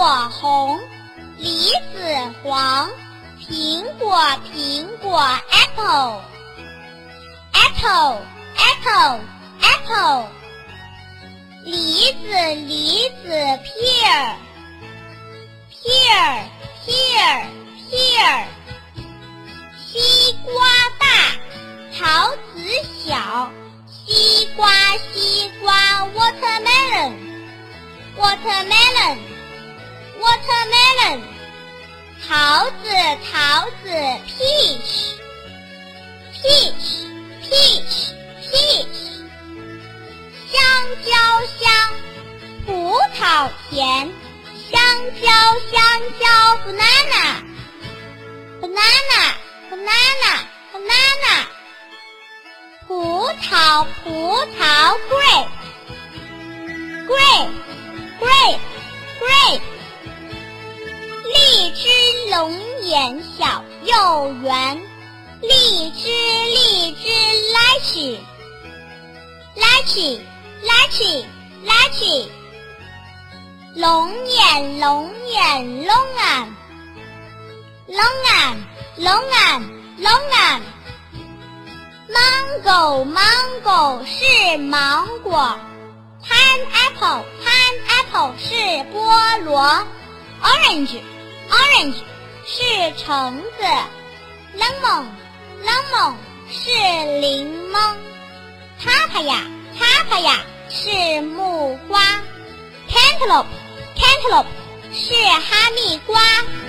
红，梨子黄，苹果，apple apple apple apple， 梨子pear pear pear pear， 西瓜大，桃子小，西瓜watermelon watermelon watermelon， 桃子 peach peach peach peach， 香蕉香，葡萄甜，香蕉 banana banana banana banana， 葡萄 grape grape grape grape， 荔枝龙眼小又圆，荔枝 lychee lychee lychee， 龙眼 longan longan longan longan， mango 是芒果， pineapple 是菠萝， orange 是橙子， lemon 是柠檬， papaya 是木瓜， cantaloupe 是哈密瓜。